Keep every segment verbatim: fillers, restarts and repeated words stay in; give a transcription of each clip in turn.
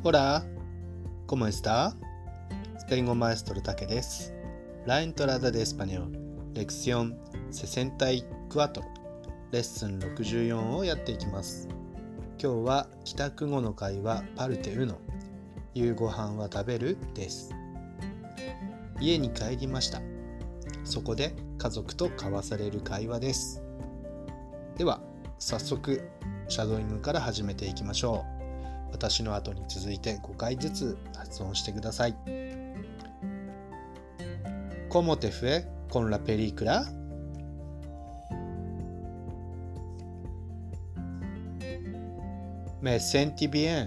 Hola, ¿cómo está? スペイン語マエストロタケです。La entrada de español, lección sesenta y cuatro、レッスンろくじゅうよんをやっていきます。今日は帰宅後の会話パルテウノ、夕ご飯は食べるです。家に帰りました。そこで家族と交わされる会話です。では早速シャドーイングから始めていきましょう。私の後に続いてごかいずつ発音してください。¿Cómo te fue con la película? Me sentí bien.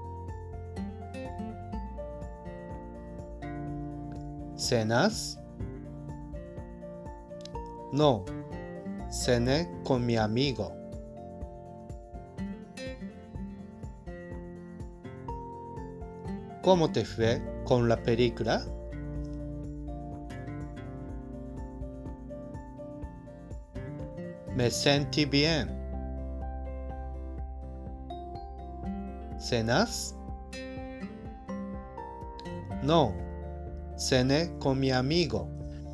¿Cenas? No, cené con mi amigo.¿Cómo te fue con la película? Me sentí bien. ¿Cenas? No, cené con mi amigo.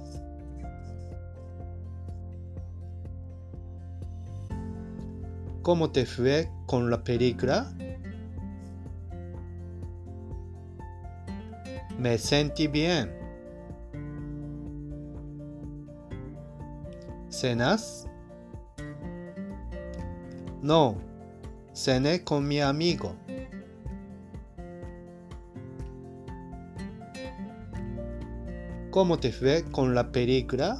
¿Cómo te fue con la película?Me sentí bien. ¿Cenas? No, cené con mi amigo. ¿Cómo te fue con la película?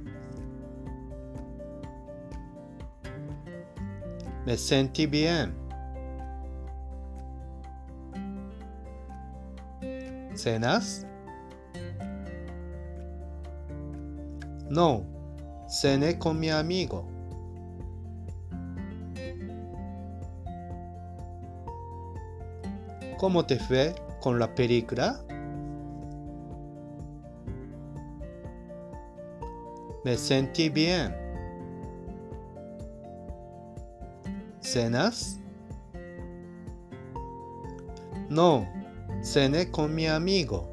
Me sentí bien.¿Cenas? No, cené con mi amigo. ¿Cómo te fue con la película? Me sentí bien. ¿Cenas? No.Cené con mi amigo.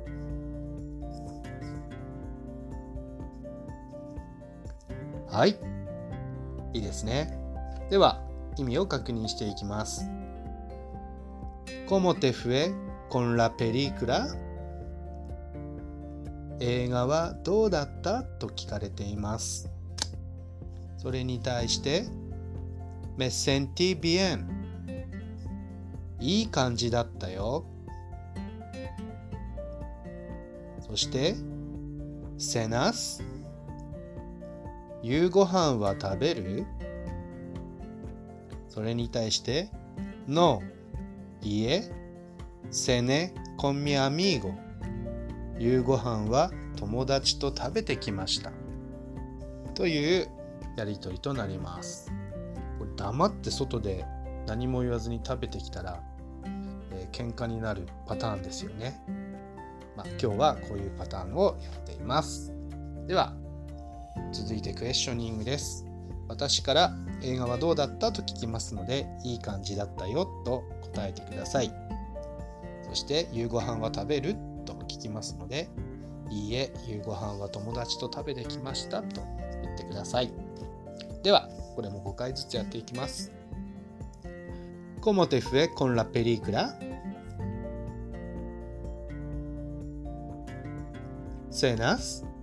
はい、いいですね。では意味を確認していきます。¿Cómo te fue con la película? 映画はどうだったと聞かれています。それに対してMe sentí bien。いい感じだったよ。そして、cenas、夕ご飯は食べる？それに対して、no、いえ、cené con mi amigo、夕ご飯は友達と食べてきました。というやりとりとなります。これ黙って外で何も言わずに食べてきたら、えー、喧嘩になるパターンですよね。まあ、今日はこういうパターンをやっています。では続いてクエスチョニングです。私から映画はどうだったと聞きますので、いい感じだったよと答えてください。そして夕ご飯は食べると聞きますので、いいえ、夕ご飯は友達と食べてきましたと言ってください。ではこれもごかいずつやっていきます。¿Cómo te fue con la película?¿Cenas?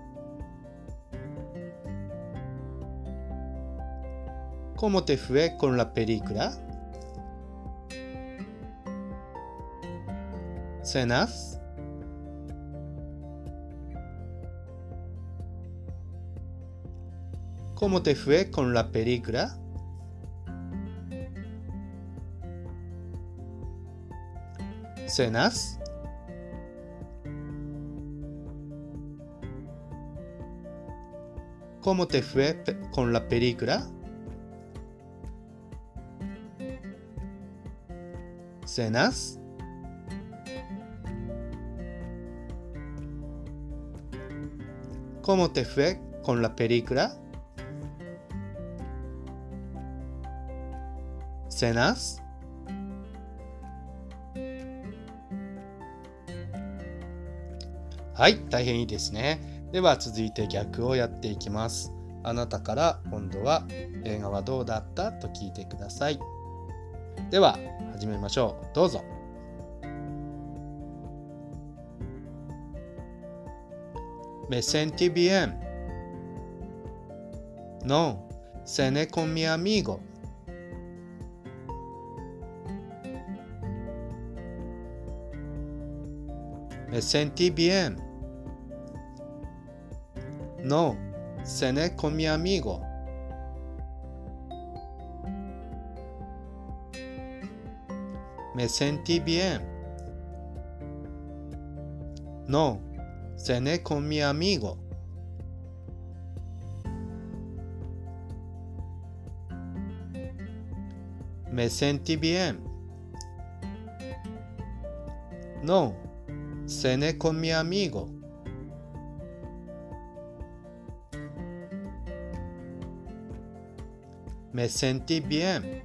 ¿Cómo te fue con la película? ¿Cenas? ¿Cómo te fue con la película? ¿Cenas? ¿Cómo te fue con la película? ¿Cenas? ¿Cómo te fue con la película? ¿Cenas? はい、大変いいですね。では続いて逆をやっていきます。あなたから今度は映画はどうだったと聞いてください。では始めましょう。どうぞ。Me sentí bien. No, cené con mi amigo. Me sentí bien. No, cené con mi amigo. Me sentí bien. No, cené con mi amigo. Me sentí bien. No, cené con mi amigo. Me sentí bien.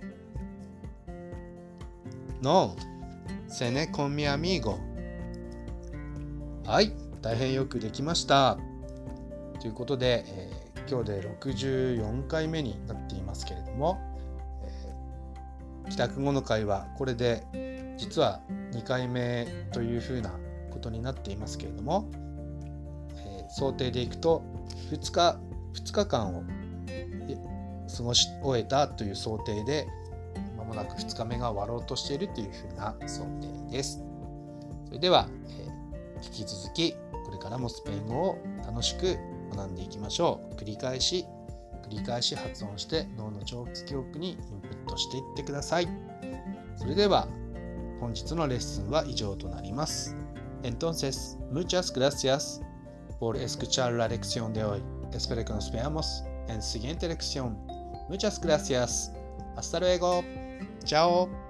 No, cené con mi amigo. はい、大変よくできました。ということで、えー、今日でろくじゅうよんかいめになっていますけれども、えー、帰宅後の会はこれで実はにかいめというふうなことになっていますけれども、えー、想定でいくとふつか、ふつかかんを過ごし終えたという想定で、まもなくふつかめが終わろうとしているというふうな想定です。それでは、えー、引き続きこれからもスペイン語を楽しく学んでいきましょう。繰り返し繰り返し発音して脳の長期記憶にインプットしていってください。それでは本日のレッスンは以上となります。Entonces, muchas gracias por escuchar la lección de hoy. Espero que nos veamos en siguiente lección. Muchas gracias. Hasta luego. Chao.